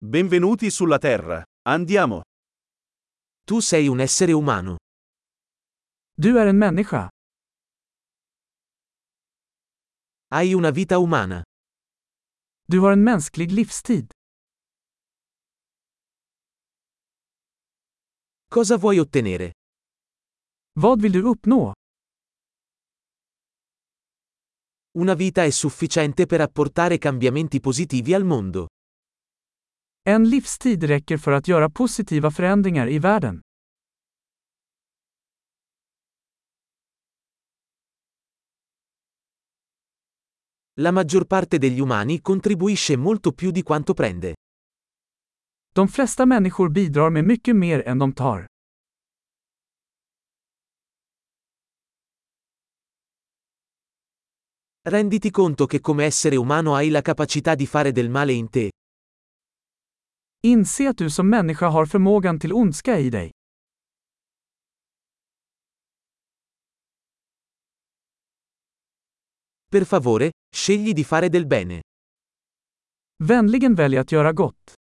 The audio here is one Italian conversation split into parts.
Benvenuti sulla Terra. Andiamo. Tu sei un essere umano. Du är en människa. Hai una vita umana. Du har en mänsklig livstid. Cosa vuoi ottenere? Vad vill du uppnå? Una vita è sufficiente per apportare cambiamenti positivi al mondo. En livstid räcker för att göra positiva förändringar i världen. La maggior parte degli umani contribuisce molto più di quanto prende. De flesta människor bidrar med mycket mer än de tar. Renditi conto che come essere umano hai la capacità di fare del male in te. Inse att du som människa har förmågan till ondska i dig. Per favore, scegli di fare del bene. Vänligen välj att göra gott.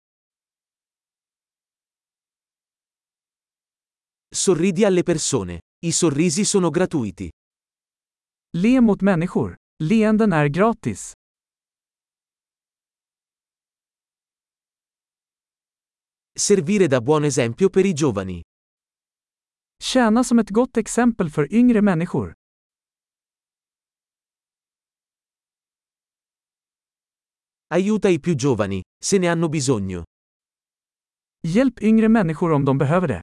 Sorridi alle persone. I sorrisi sono gratuiti. Le mot människor. Leenden är gratis. Servire da buon esempio per i giovani. Tjäna som ett gott exempel för yngre människor. Aiuta i più giovani, se ne hanno bisogno. Hjälp yngre människor om de behöver det.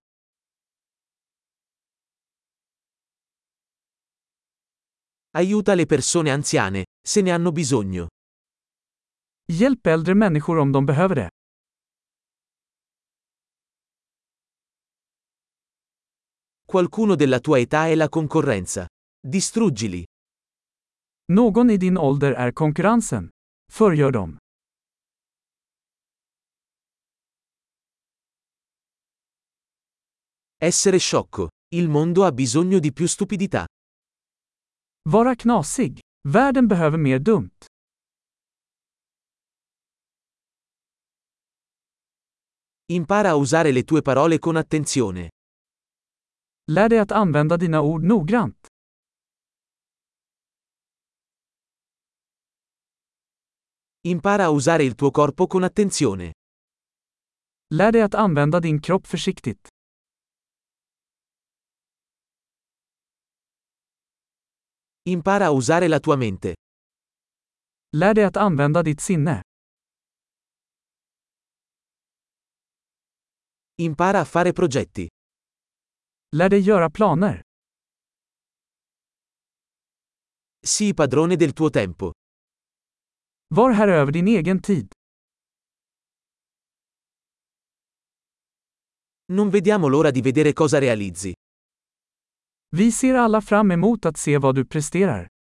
Aiuta le persone anziane, se ne hanno bisogno. Hjälp äldre människor om de behöver det. Qualcuno della tua età è la concorrenza. Distruggili. Någon i din ålder är konkurrensen. Förgör dem. Essere sciocco. Il mondo ha bisogno di più stupidità. Vara knasig. Världen behöver mer dumt. Impara a usare le tue parole con attenzione. Lär dig att använda dina ord noggrant. Impara a usare il tuo corpo con attenzione. Lär dig att använda din kropp försiktigt. Impara a usare la tua mente. Lär dig att använda ditt sinne. Impara a fare progetti. Lär dig göra planer. Sii padrone del tuo tempo. Var här över din egen tid. Non vediamo l'ora di vedere cosa realizzi. Vi ser alla fram emot att se vad du presterar.